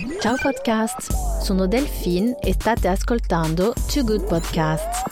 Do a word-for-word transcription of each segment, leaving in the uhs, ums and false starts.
Ciao podcast, sono Delphine e state ascoltando Too Good Podcast.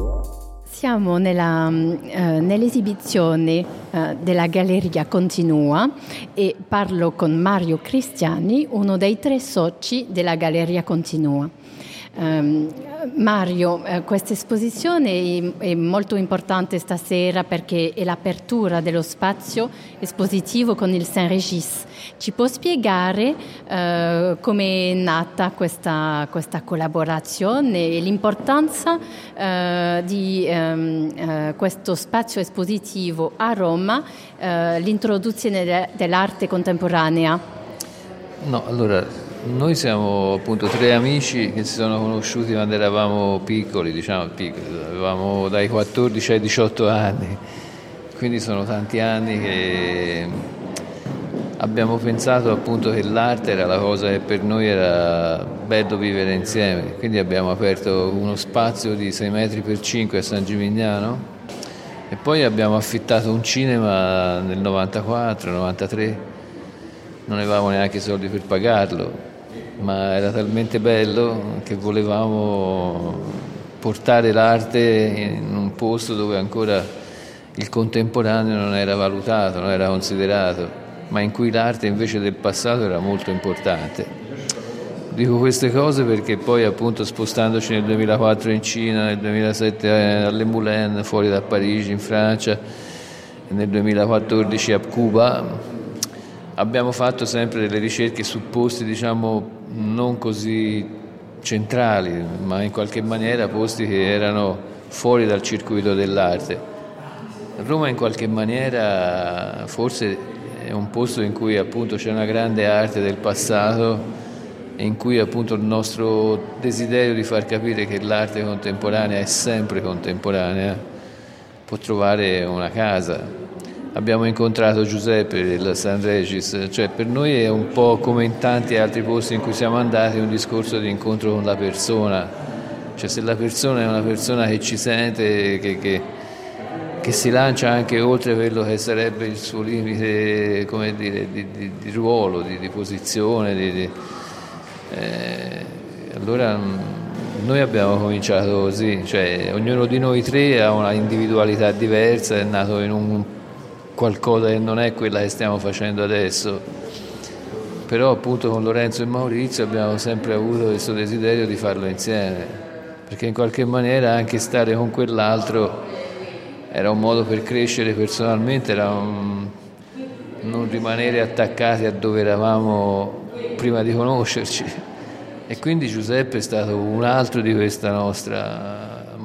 Siamo nella, eh, nell'esibizione eh, della Galleria Continua e parlo con Mario Cristiani, uno dei tre soci della Galleria Continua. Um, Mario, eh, questa esposizione è, è molto importante stasera perché è l'apertura dello spazio espositivo con il Saint-Régis. Ci può spiegare eh, come è nata questa, questa collaborazione e l'importanza eh, di ehm, eh, questo spazio espositivo a Roma, eh, l'introduzione de- dell'arte contemporanea? No, allora... Noi siamo appunto tre amici che si sono conosciuti quando eravamo piccoli, diciamo piccoli, avevamo dai quattordici ai diciotto anni, quindi sono tanti anni che abbiamo pensato appunto che l'arte era la cosa che per noi era bello vivere insieme, quindi abbiamo aperto uno spazio di sei metri per cinque a San Gimignano e poi abbiamo affittato un cinema nel novantaquattro novantatré, non avevamo neanche i soldi per pagarlo, ma era talmente bello che volevamo portare l'arte in un posto dove ancora il contemporaneo non era valutato, non era considerato, ma in cui l'arte invece del passato era molto importante. Dico queste cose perché poi appunto spostandoci nel duemilaquattro in Cina, nel duemilasette alle Moulin, fuori da Parigi in Francia, e nel duemilaquattordici a Cuba, abbiamo fatto sempre delle ricerche su posti, diciamo, non così centrali, ma in qualche maniera posti che erano fuori dal circuito dell'arte. Roma in qualche maniera forse è un posto in cui appunto c'è una grande arte del passato e in cui appunto il nostro desiderio di far capire che l'arte contemporanea è sempre contemporanea può trovare una casa. Abbiamo incontrato Giuseppe del Saint-Régis, cioè per noi è un po' come in tanti altri posti in cui siamo andati un discorso di incontro con la persona, cioè se la persona è una persona che ci sente, che, che, che si lancia anche oltre quello che sarebbe il suo limite, come dire, di, di, di ruolo, di, di posizione, di, di, eh, allora noi abbiamo cominciato così, cioè ognuno di noi tre ha una individualità diversa, è nato in un qualcosa che non è quella che stiamo facendo adesso, però appunto con Lorenzo e Maurizio abbiamo sempre avuto questo desiderio di farlo insieme, perché in qualche maniera anche stare con quell'altro era un modo per crescere personalmente, era un... non rimanere attaccati a dove eravamo prima di conoscerci, e quindi Giuseppe è stato un altro di questa nostra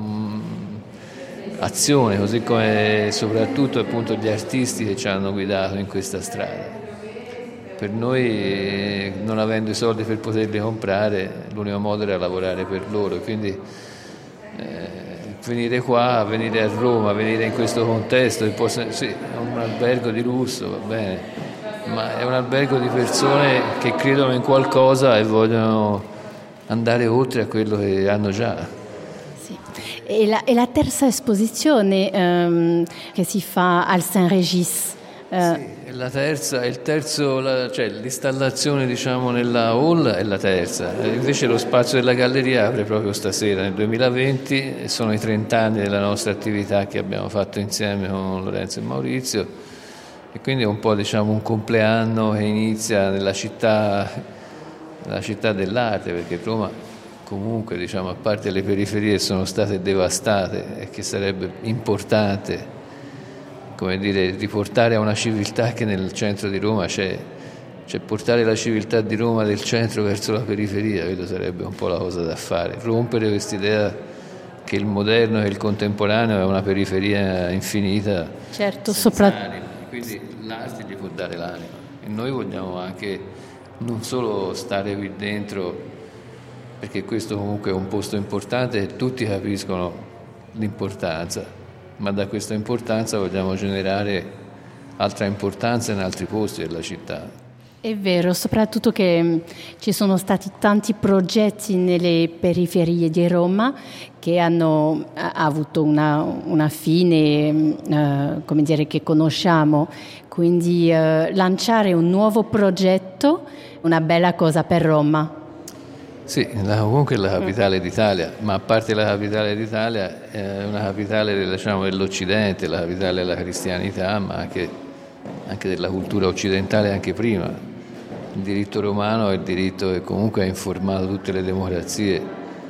azione, così come soprattutto appunto gli artisti che ci hanno guidato in questa strada. Per noi, non avendo i soldi per poterli comprare, l'unico modo era lavorare per loro, quindi eh, venire qua, venire a Roma, venire in questo contesto, che possa, sì, è un albergo di lusso, va bene, ma è un albergo di persone che credono in qualcosa e vogliono andare oltre a quello che hanno già. È la, è la terza esposizione um, che si fa al Saint-Régis. Uh. Sì, è la terza, il terzo, la, cioè l'installazione diciamo nella hall è la terza, e invece lo spazio della galleria apre proprio stasera, nel duemilaventi, e sono i trent'anni della nostra attività che abbiamo fatto insieme con Lorenzo e Maurizio, e quindi è un po' diciamo un compleanno che inizia nella città, nella città dell'arte, perché Roma comunque diciamo a parte le periferie sono state devastate e che sarebbe importante come dire riportare a una civiltà che nel centro di Roma c'è, cioè portare la civiltà di Roma del centro verso la periferia, credo sarebbe un po' la cosa da fare, rompere quest'idea che il moderno e il contemporaneo è una periferia infinita, certo, soprattutto quindi l'arte gli può dare l'anima e noi vogliamo anche non solo stare qui dentro, perché questo comunque è un posto importante e tutti capiscono l'importanza, ma da questa importanza vogliamo generare altra importanza in altri posti della città. È vero, soprattutto che ci sono stati tanti progetti nelle periferie di Roma che hanno avuto una, una fine, eh, come dire, che conosciamo. Quindi eh, lanciare un nuovo progetto una bella cosa per Roma. Sì, la, comunque è la capitale d'Italia, ma a parte la capitale d'Italia è una capitale, diciamo, dell'Occidente, la capitale della cristianità, ma anche, anche della cultura occidentale anche prima. Il diritto romano è il diritto che comunque ha informato tutte le democrazie.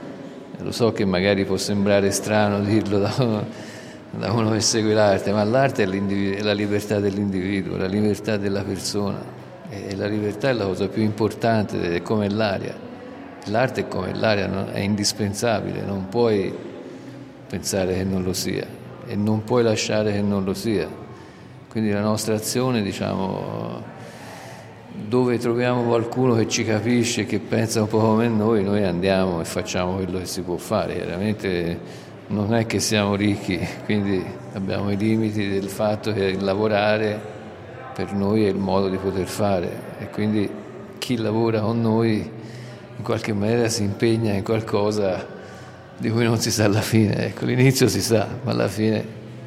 Lo so che magari può sembrare strano dirlo da uno, da uno che segue l'arte, ma l'arte è, è la libertà dell'individuo, la libertà della persona, e la libertà è la cosa più importante, è come l'aria. L'arte è come l'aria, no? È indispensabile, non puoi pensare che non lo sia e non puoi lasciare che non lo sia. Quindi la nostra azione, diciamo, dove troviamo qualcuno che ci capisce, che pensa un po' come noi, noi andiamo e facciamo quello che si può fare. Chiaramente non è che siamo ricchi, quindi abbiamo i limiti del fatto che lavorare per noi è il modo di poter fare, e quindi chi lavora con noi in qualche maniera si impegna in qualcosa di cui non si sa alla fine. Ecco, l'inizio si sa, ma alla fine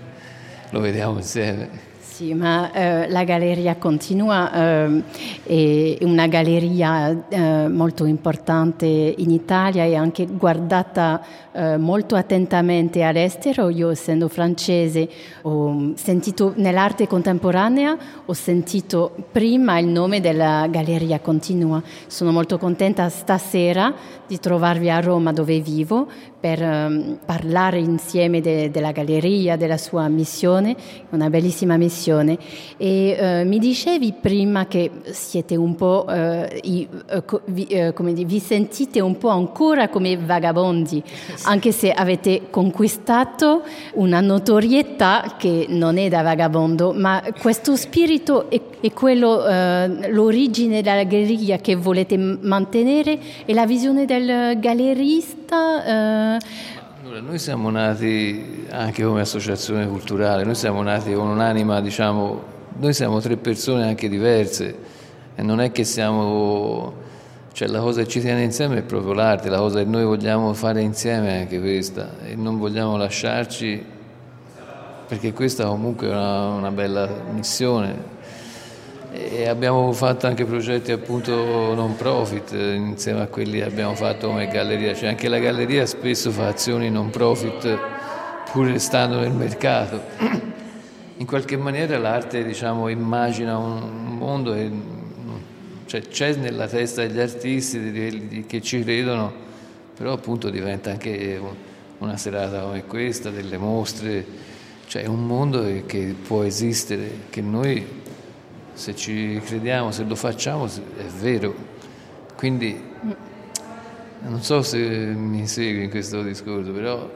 lo vediamo insieme. Sì, ma eh, la Galleria Continua eh, è una galleria eh, molto importante in Italia e anche guardata eh, molto attentamente all'estero. Io, essendo francese, ho sentito nell'arte contemporanea, ho sentito prima il nome della Galleria Continua. Sono molto contenta stasera di trovarvi a Roma, dove vivo, per um, parlare insieme de, della galleria, della sua missione, una bellissima missione. E uh, mi dicevi prima che siete un po', uh, i, uh, co, vi, uh, come di, vi sentite un po' ancora come vagabondi, anche se avete conquistato una notorietà che non è da vagabondo, ma questo spirito è, è quello, uh, l'origine della galleria che volete mantenere, e la visione del gallerista. Uh, Allora, noi siamo nati anche come associazione culturale, noi siamo nati con un'anima, diciamo, noi siamo tre persone anche diverse, e non è che siamo, cioè la cosa che ci tiene insieme è proprio l'arte, la cosa che noi vogliamo fare insieme è anche questa, e non vogliamo lasciarci, perché questa comunque è una, una bella missione. E abbiamo fatto anche progetti appunto non profit insieme a quelli che abbiamo fatto come galleria, cioè anche la galleria spesso fa azioni non profit pur restando nel mercato. In qualche maniera l'arte, diciamo, immagina un mondo che, cioè, c'è nella testa degli artisti, di quelli che ci credono, però appunto diventa anche una serata come questa, delle mostre, cioè è un mondo che, che può esistere, che noi, se ci crediamo, se lo facciamo, è vero. Quindi non so se mi segui in questo discorso, però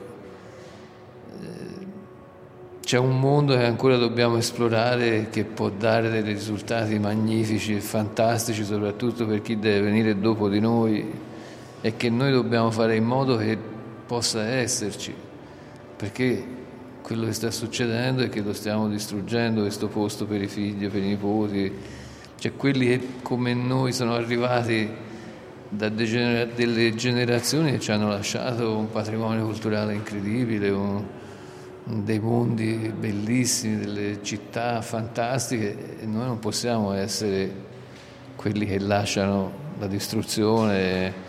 eh, c'è un mondo che ancora dobbiamo esplorare, che può dare dei risultati magnifici e fantastici, soprattutto per chi deve venire dopo di noi, e che noi dobbiamo fare in modo che possa esserci, perché quello che sta succedendo è che lo stiamo distruggendo, questo posto, per i figli, per i nipoti, cioè quelli che come noi sono arrivati da degener- delle generazioni che ci hanno lasciato un patrimonio culturale incredibile, un, dei mondi bellissimi, delle città fantastiche, e noi non possiamo essere quelli che lasciano la distruzione,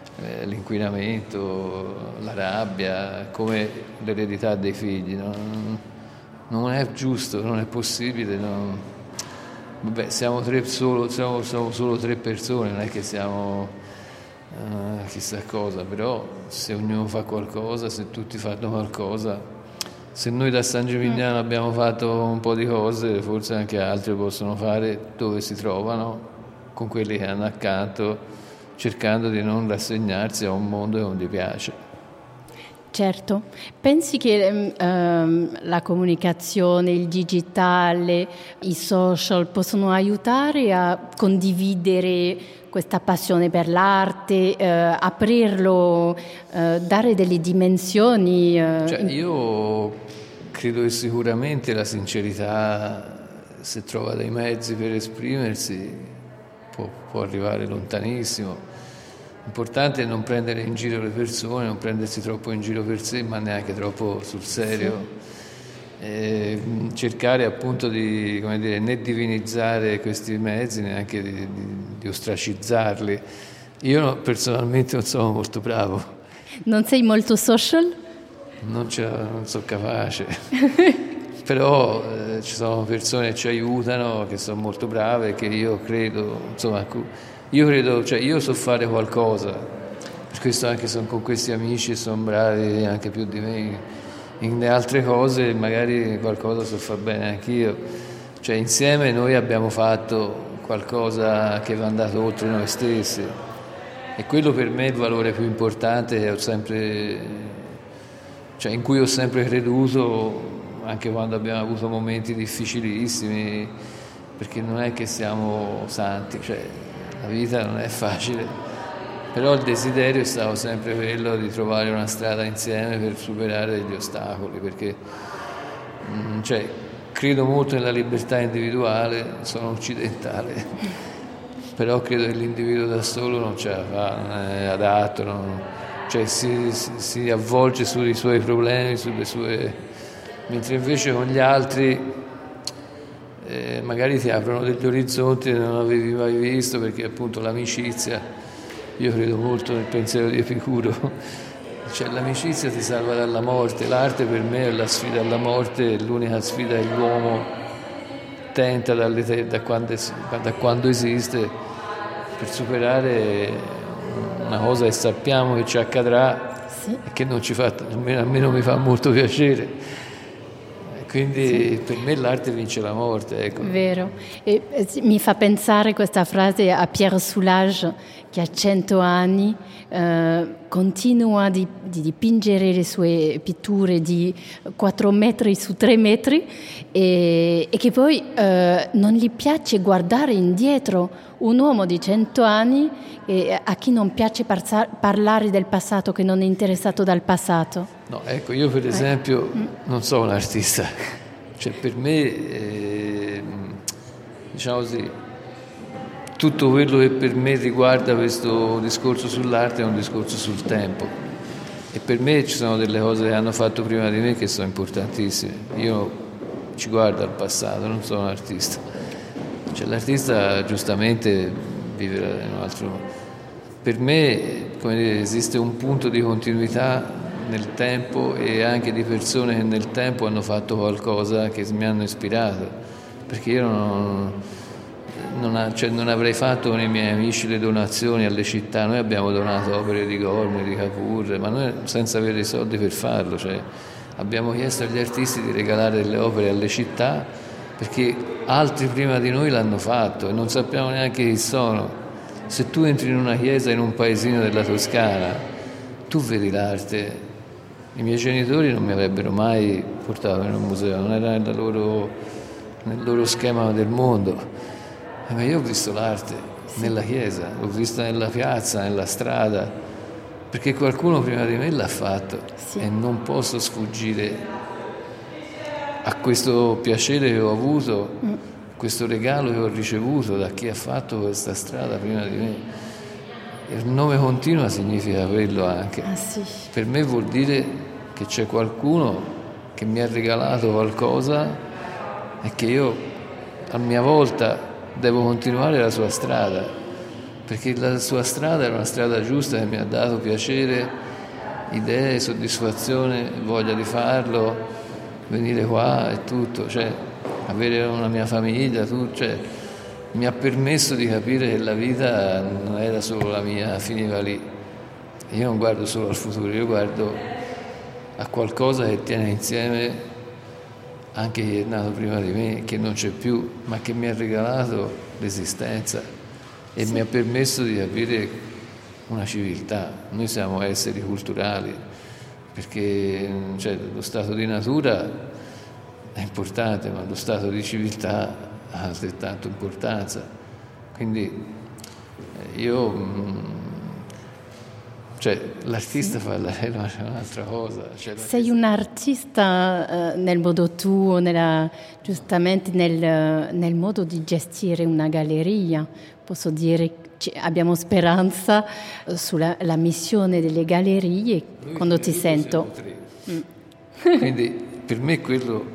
l'inquinamento, la rabbia come l'eredità dei figli. Non, non è giusto, non è possibile. Non... Vabbè, siamo, tre solo, siamo, siamo solo tre persone, non è che siamo uh, chissà cosa, però se ognuno fa qualcosa, se tutti fanno qualcosa, se noi da San Gimignano abbiamo fatto un po' di cose, forse anche altri possono fare dove si trovano, con quelli che hanno accanto, cercando di non rassegnarsi a un mondo che non gli piace. Certo. Pensi che ehm, la comunicazione, il digitale, i social possono aiutare a condividere questa passione per l'arte, eh, aprirlo, eh, dare delle dimensioni? Eh, cioè, io credo che sicuramente la sincerità, se trova dei mezzi per esprimersi, Può, può arrivare lontanissimo. L'importante è non prendere in giro le persone, non prendersi troppo in giro per sé, ma neanche troppo sul serio. Sì. eh, cercare appunto di, come dire, né divinizzare questi mezzi, neanche di, di, di ostracizzarli. Io no, personalmente non sono molto bravo. Non sei molto social? Non, non sono capace. Però eh, ci sono persone che ci aiutano, che sono molto brave, che io credo, insomma, io credo, cioè io so fare qualcosa, per questo anche sono con questi amici e sono bravi anche più di me in altre cose, magari qualcosa so far bene anch'io, cioè insieme noi abbiamo fatto qualcosa che va andato oltre noi stessi e quello per me è il valore più importante che ho sempre, cioè in cui ho sempre creduto, anche quando abbiamo avuto momenti difficilissimi, perché non è che siamo santi, cioè la vita non è facile. Però il desiderio è stato sempre quello di trovare una strada insieme per superare gli ostacoli, perché cioè, credo molto nella libertà individuale, sono occidentale, però credo che l'individuo da solo non ce la fa, non è adatto, non, cioè si, si, si avvolge sui suoi problemi, sulle sue... mentre invece con gli altri eh, magari ti aprono degli orizzonti che non avevi mai visto, perché appunto l'amicizia... Io credo molto nel pensiero di Epicuro, cioè l'amicizia ti salva dalla morte, l'arte per me è la sfida alla morte, è l'unica sfida che l'uomo tenta dalle, da, quando, da quando esiste per superare una cosa che sappiamo che ci accadrà sì. E che non ci fa, almeno a me non mi fa molto piacere. Quindi sì. Per me l'arte vince la morte. Ecco. Vero. E, eh, mi fa pensare questa frase a Pierre Soulages, che ha cento anni, eh, continua di, di dipingere le sue pitture di quattro metri su tre metri e, e che poi eh, non gli piace guardare indietro. Un uomo di cento anni eh, a chi non piace parza- parlare del passato, che non è interessato dal passato. No, ecco, io per esempio eh. non sono un artista, cioè per me, eh, diciamo così, tutto quello che per me riguarda questo discorso sull'arte è un discorso sul tempo e per me ci sono delle cose che hanno fatto prima di me che sono importantissime. Io ci guardo al passato, non sono un artista. Cioè, l'artista giustamente vive in un altro modo. Per me, come dire, esiste un punto di continuità nel tempo e anche di persone che nel tempo hanno fatto qualcosa che mi hanno ispirato, perché io non, non, ha, cioè, non avrei fatto con i miei amici le donazioni alle città. Noi abbiamo donato opere di Gormley, di Capur, ma noi senza avere i soldi per farlo, cioè, abbiamo chiesto agli artisti di regalare delle opere alle città perché altri prima di noi l'hanno fatto e non sappiamo neanche chi sono. Se tu entri in una chiesa in un paesino della Toscana, tu vedi l'arte. I miei genitori non mi avrebbero mai portato in un museo, non era nella loro, nel loro schema del mondo. Ma io ho visto l'arte nella chiesa, l'ho vista nella piazza, nella strada, perché qualcuno prima di me l'ha fatto sì. E non posso sfuggire a questo piacere che ho avuto, mm. questo regalo che ho ricevuto da chi ha fatto questa strada prima di me. Il nome continua significa quello anche. Ah, sì. Per me vuol dire che c'è qualcuno che mi ha regalato qualcosa e che io a mia volta devo continuare la sua strada, perché la sua strada è una strada giusta che mi ha dato piacere, idee, soddisfazione, voglia di farlo, venire qua e tutto, cioè avere una mia famiglia, tutto, cioè, mi ha permesso di capire che la vita non era solo la mia, finiva lì. Io non guardo solo al futuro, io guardo a qualcosa che tiene insieme anche chi è nato prima di me, che non c'è più, ma che mi ha regalato l'esistenza e sì. Mi ha permesso di capire una civiltà. Noi siamo esseri culturali, perché cioè, lo stato di natura è importante, ma lo stato di civiltà ha altrettanto importanza. Quindi io, cioè, l'artista fa la, è un'altra cosa. Cioè, sei un artista eh, nel modo tuo, nella, giustamente nel, nel modo di gestire una galleria. Posso dire abbiamo speranza sulla la missione delle gallerie. Noi quando ti sento mm. Quindi per me quello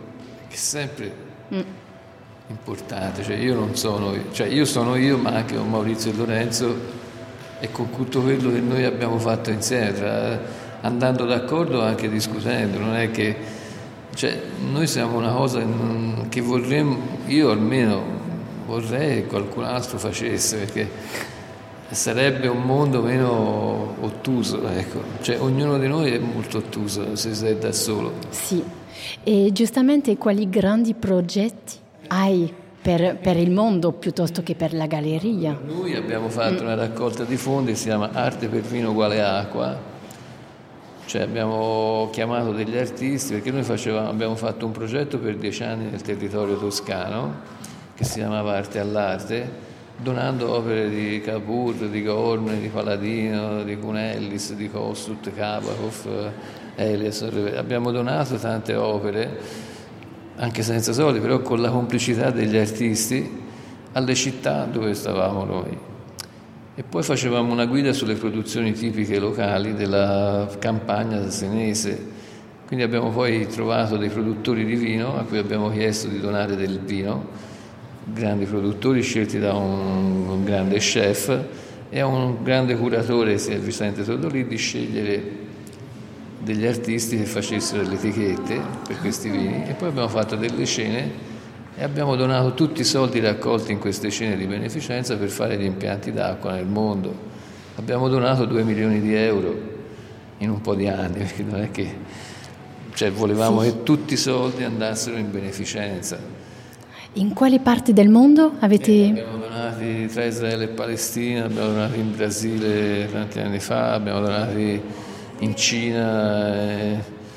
che è sempre mm. importante. Cioè io non sono, cioè io sono io, ma anche con Maurizio e Lorenzo e con tutto quello che noi abbiamo fatto insieme, tra, andando d'accordo anche discutendo. Non è che, cioè, noi siamo una cosa che vorremmo, io almeno vorrei che qualcun altro facesse, perché sarebbe un mondo meno ottuso, ecco. Cioè, ognuno di noi è molto ottuso se sei da solo. Sì, e giustamente quali grandi progetti hai per, per il mondo piuttosto che per la galleria? Noi abbiamo fatto mm. una raccolta di fondi che si chiama Arte per vino uguale acqua, cioè abbiamo chiamato degli artisti, perché noi facevamo, abbiamo fatto un progetto per dieci anni nel territorio toscano che si chiamava Arte all'Arte, donando opere di Cavour, di Gormley, di Paladino, di Cunellis, di Kossuth, Kabakov, Elias. Abbiamo donato tante opere, anche senza soldi, però con la complicità degli artisti, alle città dove stavamo noi. E poi facevamo una guida sulle produzioni tipiche locali della campagna senese. Quindi abbiamo poi trovato dei produttori di vino a cui abbiamo chiesto di donare del vino, grandi produttori scelti da un, un grande chef e a un grande curatore, sia Vicente Todolì, di scegliere degli artisti che facessero le etichette per questi vini. E poi abbiamo fatto delle cene e abbiamo donato tutti i soldi raccolti in queste cene di beneficenza per fare gli impianti d'acqua nel mondo. Abbiamo donato due milioni di euro in un po' di anni, perché non è che, cioè, volevamo sì. che tutti i soldi andassero in beneficenza. In quali parti del mondo avete? Eh, abbiamo donati tra Israele e Palestina, abbiamo donati in Brasile tanti anni fa, abbiamo donati in Cina, e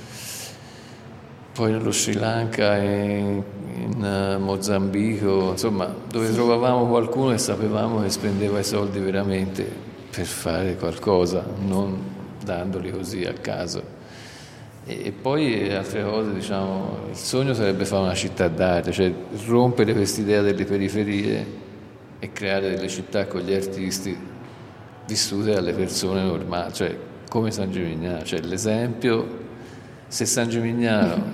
poi nello Sri Lanka, e in Mozambico, insomma, dove sì. trovavamo qualcuno e sapevamo che spendeva i soldi veramente per fare qualcosa, non dandoli così a caso. E poi altre cose, diciamo, il sogno sarebbe fare una città d'arte, cioè rompere quest'idea delle periferie e creare delle città con gli artisti vissute dalle persone normali, cioè come San Gimignano. Cioè l'esempio, se San Gimignano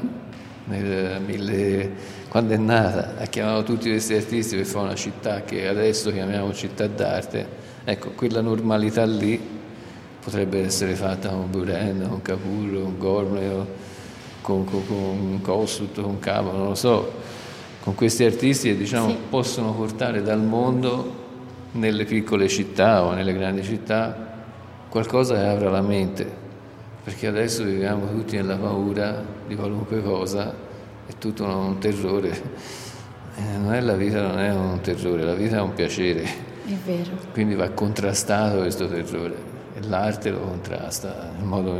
nel mille, quando è nata ha chiamato tutti questi artisti per fare una città che adesso chiamiamo città d'arte, ecco, quella normalità lì potrebbe essere fatta con Buren, con Cavour, con Gormley, con, con, con Kossuth, con Cavo, non lo so, con questi artisti che, diciamo, sì. possono portare dal mondo nelle piccole città o nelle grandi città qualcosa che apra la mente, perché adesso viviamo tutti nella paura di qualunque cosa, è tutto un terrore. Eh, non è la vita, non è un terrore, la vita è un piacere. È vero. Quindi va contrastato questo terrore. E l'arte lo contrasta in modo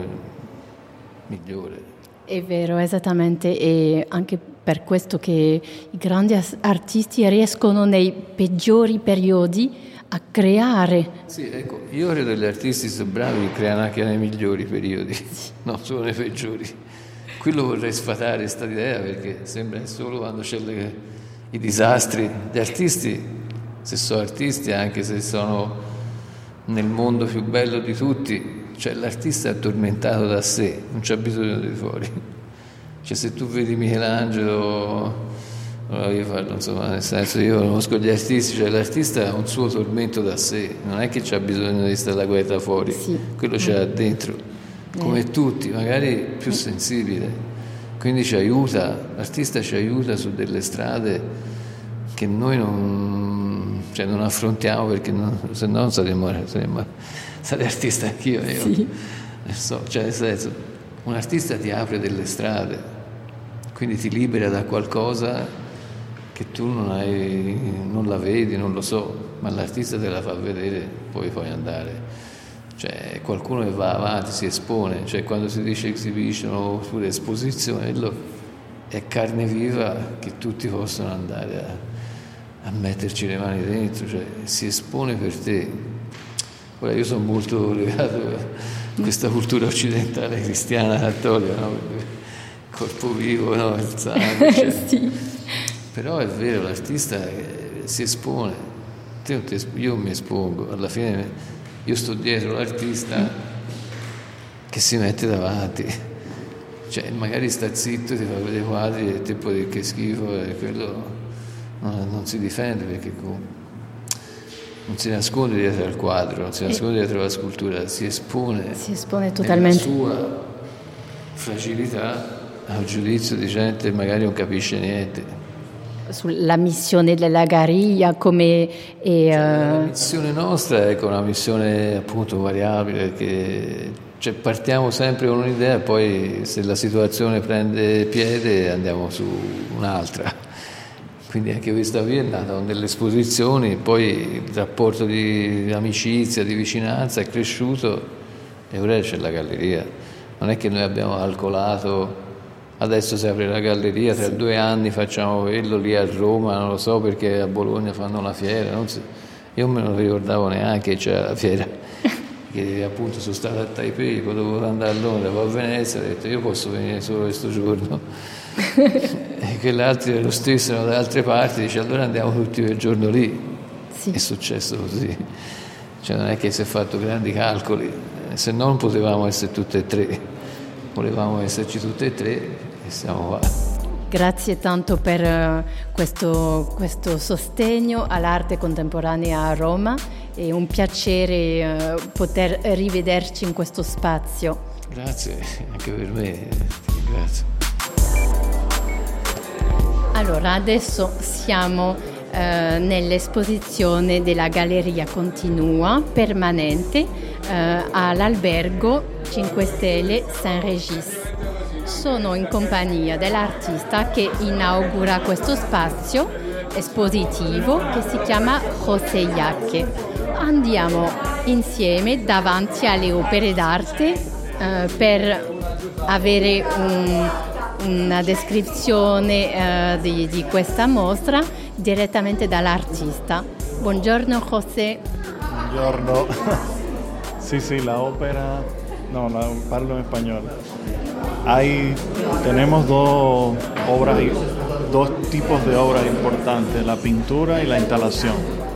migliore. È vero, esattamente, e anche per questo che i grandi artisti riescono nei peggiori periodi a creare. Sì, ecco, io credo che gli artisti sono bravi che creano anche nei migliori periodi, sì. non solo nei peggiori. Quello vorrei sfatare questa idea, perché sembra che solo quando c'è le, i disastri. Gli artisti, se sono artisti, anche se sono nel mondo più bello di tutti, cioè l'artista è addormentato da sé, non c'è bisogno di fuori. Cioè se tu vedi Michelangelo, allora io parlo, insomma, nel senso, io conosco gli artisti, cioè l'artista ha un suo tormento da sé, non è che c'ha bisogno di stare la guerra fuori, sì. quello ce l'ha dentro, come eh. tutti, magari più sensibile, quindi ci aiuta, l'artista ci aiuta su delle strade che noi non, cioè non affrontiamo, perché non, se no non saremmo, saremmo sarei artista anch'io, io sì. so, cioè nel senso, un artista ti apre delle strade, quindi ti libera da qualcosa che tu non hai, non la vedi, non lo so, ma l'artista te la fa vedere, poi puoi andare. Cioè qualcuno che va avanti, si espone, cioè quando si dice exhibition oppure esposizione, è carne viva che tutti possono andare a, a metterci le mani dentro, cioè si espone per te. Ora io sono molto legato a questa cultura occidentale cristiana cattolica, no? Corpo vivo, no? Il sangue, cioè. sì. Però è vero, l'artista si espone, io mi espongo, alla fine io sto dietro l'artista che si mette davanti, cioè, magari sta zitto, ti fa vedere i quadri e te puoi dire che schifo, e quello non, non si difende perché non si nasconde dietro al quadro, non si nasconde dietro alla scultura, si espone, si espone totalmente nella sua fragilità al giudizio di gente che magari non capisce niente. Sulla missione della Galleria come... E, cioè, uh... la missione nostra è ecco, una missione appunto variabile, che cioè, partiamo sempre con un'idea e poi se la situazione prende piede andiamo su un'altra. Quindi anche questa qui è nata con delle esposizioni, poi il rapporto di amicizia, di vicinanza è cresciuto e ora c'è la galleria. Non è che noi abbiamo calcolato adesso si apre la galleria, tra sì. due anni facciamo quello lì a Roma, non lo so perché a Bologna fanno la fiera, non so. Io me non ricordavo neanche che c'era la fiera, che appunto sono stato a Taipei, poi dovevo andare a Londra, poi a Venezia, ho detto io posso venire solo questo giorno. E quell'altro è lo stesso, erano da altre parti, dice allora andiamo tutti quel giorno lì. Sì. È successo così, cioè non è che si è fatto grandi calcoli, se no non potevamo essere tutte e tre, volevamo esserci tutte e tre e siamo qua. Grazie tanto per uh, questo, questo sostegno all'arte contemporanea a Roma, è un piacere uh, poter rivederci in questo spazio. Grazie, anche per me, grazie. Allora, adesso siamo eh, nell'esposizione della Galleria Continua permanente eh, all'albergo cinque Stelle Saint-Régis. Sono in compagnia dell'artista che inaugura questo spazio espositivo che si chiama José Yaque. Andiamo insieme davanti alle opere d'arte eh, per avere un una descrizione uh, di, di questa mostra direttamente dall'artista. Buongiorno José. Buongiorno. Sí, sí, la ópera, no, la, parlo en español. Hay, tenemos dos obras, dos tipos de obras importantes, la pintura y la instalación.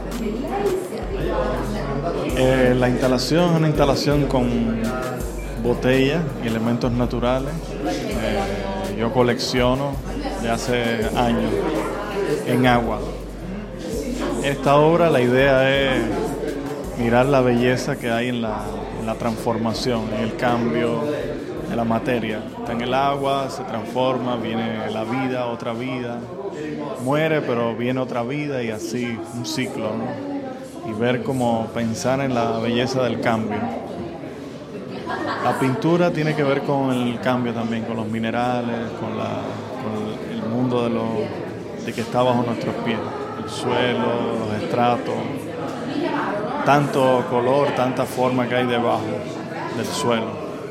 Eh, la instalación es una instalación con botellas y elementos naturales. Eh, Yo colecciono de hace años en agua. Esta obra, la idea es mirar la belleza que hay en la, en la transformación, en el cambio de la materia. Está en el agua, se transforma, viene la vida, otra vida, muere pero viene otra vida y así un ciclo, ¿no? Y ver cómo pensar en la belleza del cambio. La pintura tiene que ver con el cambio también, con los minerales, con, la, con el mundo de, lo, de que está bajo nuestros pies, el suelo, los estratos, tanto color, tanta forma que hay debajo del suelo.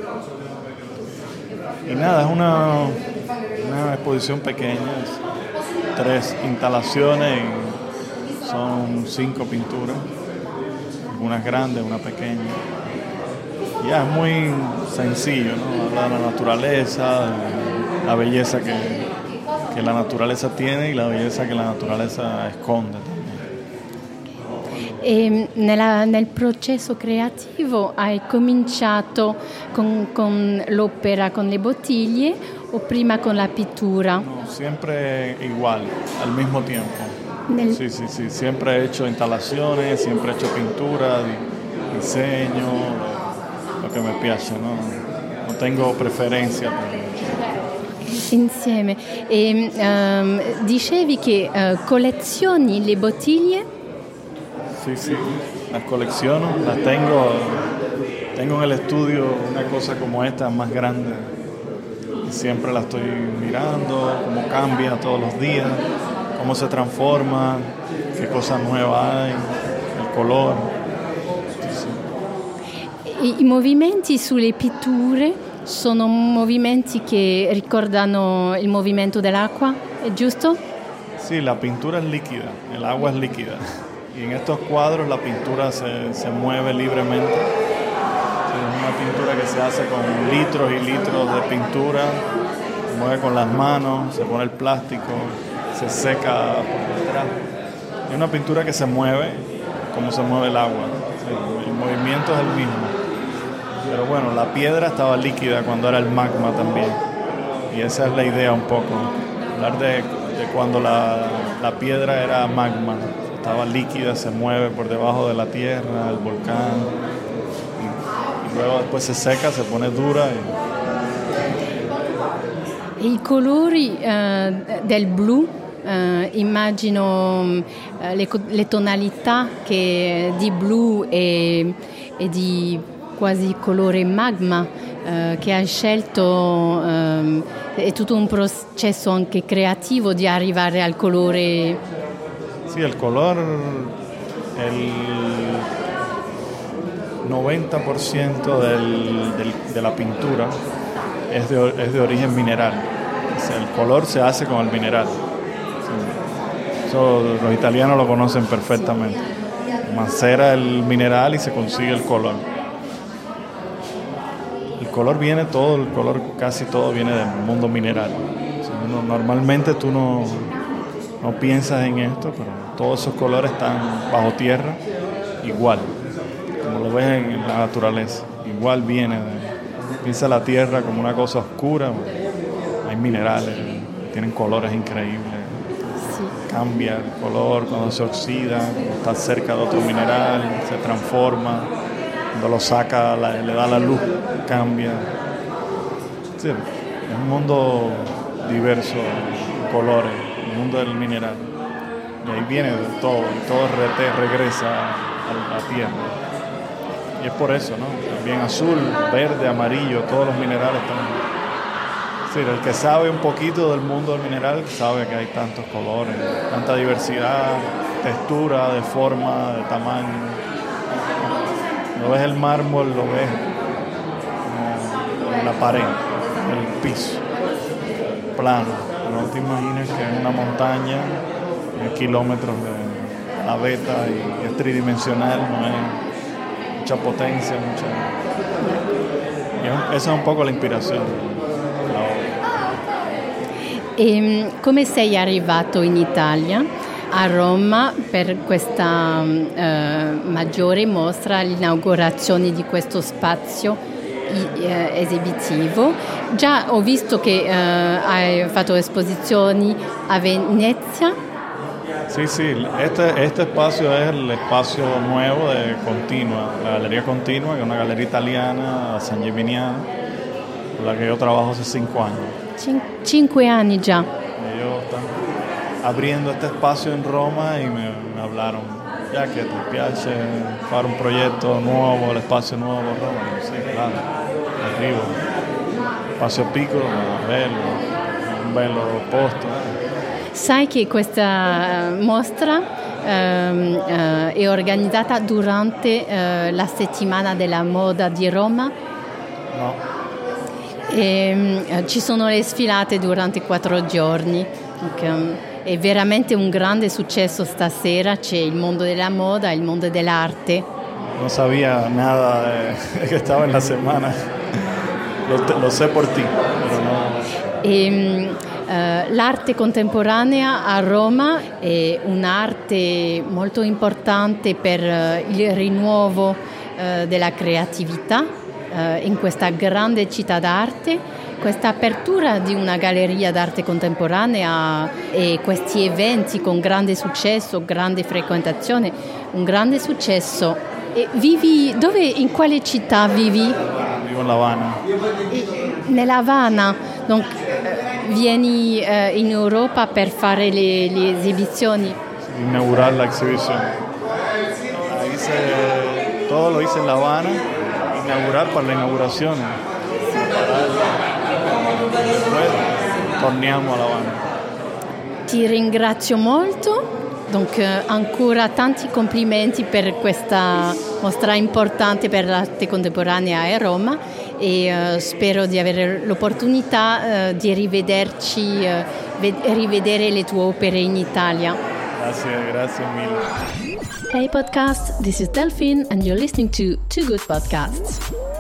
Y nada, es una, una exposición pequeña, tres instalaciones, y son cinco pinturas, unas grandes, una pequeña. Ya es muy sencillo, ¿no? Habla de la naturaleza, de la belleza que, que la naturaleza tiene y la belleza que la naturaleza esconde también. E nella, nel processo creativo hai cominciato con, con l'opera con le bottiglie o prima con la pittura? No, siempre igual, al mismo tiempo. Nel... Sí, sí, sí, siempre he hecho instalaciones, siempre he hecho pintura, diseño, lo che mi piace, no? Non tengo preferenza. Insieme. E, um, dicevi che uh, collezioni le bottiglie? Sí, sí, las colecciono, las tengo, tengo en el estudio una cosa como esta más grande y siempre la estoy mirando, cómo cambia todos los días, cómo se transforma, qué cosas nuevas hay, el color. I, I movimenti sulle pitture sono movimenti che ricordano il movimento dell'acqua, è giusto? Sí, la pintura es líquida, el agua es líquida. Y en estos cuadros la pintura se, se mueve libremente. Es una pintura que se hace con litros y litros de pintura, se mueve con las manos, se pone el plástico, se seca por detrás. Es una pintura que se mueve como se mueve el agua. El movimiento es el mismo. Pero bueno, la piedra estaba líquida cuando era el magma también. y esa es la idea un poco, hablar de, de cuando la, la piedra era magma, estaba líquida, se mueve por debajo de la tierra, el volcán, y, y luego después se seca, se pone dura. E i colori uh, del blu, uh, immagino uh, le, le tonalità che di blu e, e di quasi colore magma uh, che hai scelto, um, è tutto un processo anche creativo di arrivare al colore. Sì, il color, el noventa por ciento del, del, de la pintura es de, es de origen mineral. O sea, el color se hace con el mineral. Sí. Eso los italianos lo conocen perfectamente. Macera el mineral y se consigue el color. El color viene todo, el color casi todo viene del mundo mineral. O sea, uno, normalmente tú no, no piensas en esto, pero todos esos colores están bajo tierra igual, como lo ves en la naturaleza. Igual viene de, piensa la tierra como una cosa oscura. Hay minerales, tienen colores increíbles. Sí. Cambia el color cuando se oxida, cuando está cerca de otro mineral, se transforma. Cuando lo saca, la, le da la luz, cambia. Sí, es un mundo diverso de colores, el mundo del mineral. Y ahí viene de todo, y todo rete, regresa a la tierra. Y es por eso, ¿no? También azul, verde, amarillo, todos los minerales están. Sí, el que sabe un poquito del mundo del mineral sabe que hay tantos colores, tanta diversidad, textura, de forma, de tamaño. Lo ves el mármol, lo ves como en la pared, el piso, plano. No te imaginas que es una montaña, hay kilómetros de la veta y es tridimensional, no hay mucha potencia, mucha. Y esa es un poco la inspiración. E come sei arrivato in Italia, a Roma, per questa uh, maggiore mostra, l'inaugurazione di questo spazio uh, esibitivo? Già ho visto che uh, hai fatto esposizioni a Venezia. Sí, sí, este, este espacio es el espacio nuevo de Continua, la Galería Continua, que es una galería italiana, San Gimignano, con la que yo trabajo hace cinco años. Cin- cinque anni già. Ellos están abriendo este espacio en Roma y me, me hablaron, ya que te piace fare un progetto nuovo, l'espazio nuovo a Roma. Sì, claro, arrivo. Spazio piccolo, ma bello, un bello posto. Sai che questa mostra ehm, eh, è organizzata durante eh, la settimana della moda di Roma? No. E, eh, ci sono le sfilate durante quattro giorni. È veramente un grande successo stasera, c'è il mondo della moda, il mondo dell'arte. Non sabía nada de que estaba en la semana, lo, lo sé por ti, pero no. E, uh, l'arte contemporanea a Roma è un'arte molto importante per uh, il rinnovo uh, della creatività in questa grande città d'arte. Questa apertura di una galleria d'arte contemporanea e questi eventi con grande successo, grande frequentazione, un grande successo. E vivi dove, in quale città vivi? Vivo in La Habana. Nella Habana, donc, vieni eh, in Europa per fare le, le esibizioni? Inaugurar la exhibición. Hice, todo lo hice en La Habana. Inaugurar para la inauguración. Después torniamo a La Habana. Ti ringrazio molto. Donc, ancora tanti complimenti per questa mostra importante per l'arte contemporanea a Roma e uh, spero di avere l'opportunità uh, di rivederci, uh, ved- rivedere le tue opere in Italia. Grazie, grazie mille. Hey podcast, this is Delphine and you're listening to Too Good Podcasts.